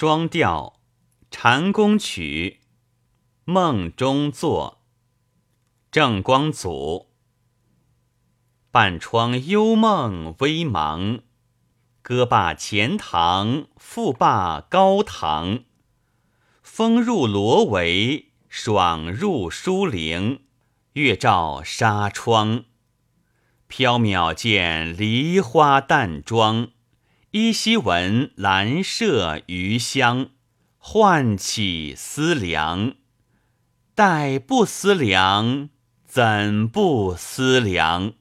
双调禅宫曲梦中作。郑光祖。半窗幽梦微茫，歌罢前堂，复罢高堂。风入罗帷，爽入疏林，月照纱窗。缥缈见梨花淡妆，依稀闻兰麝余香，唤起思量。待不思量，怎不思量？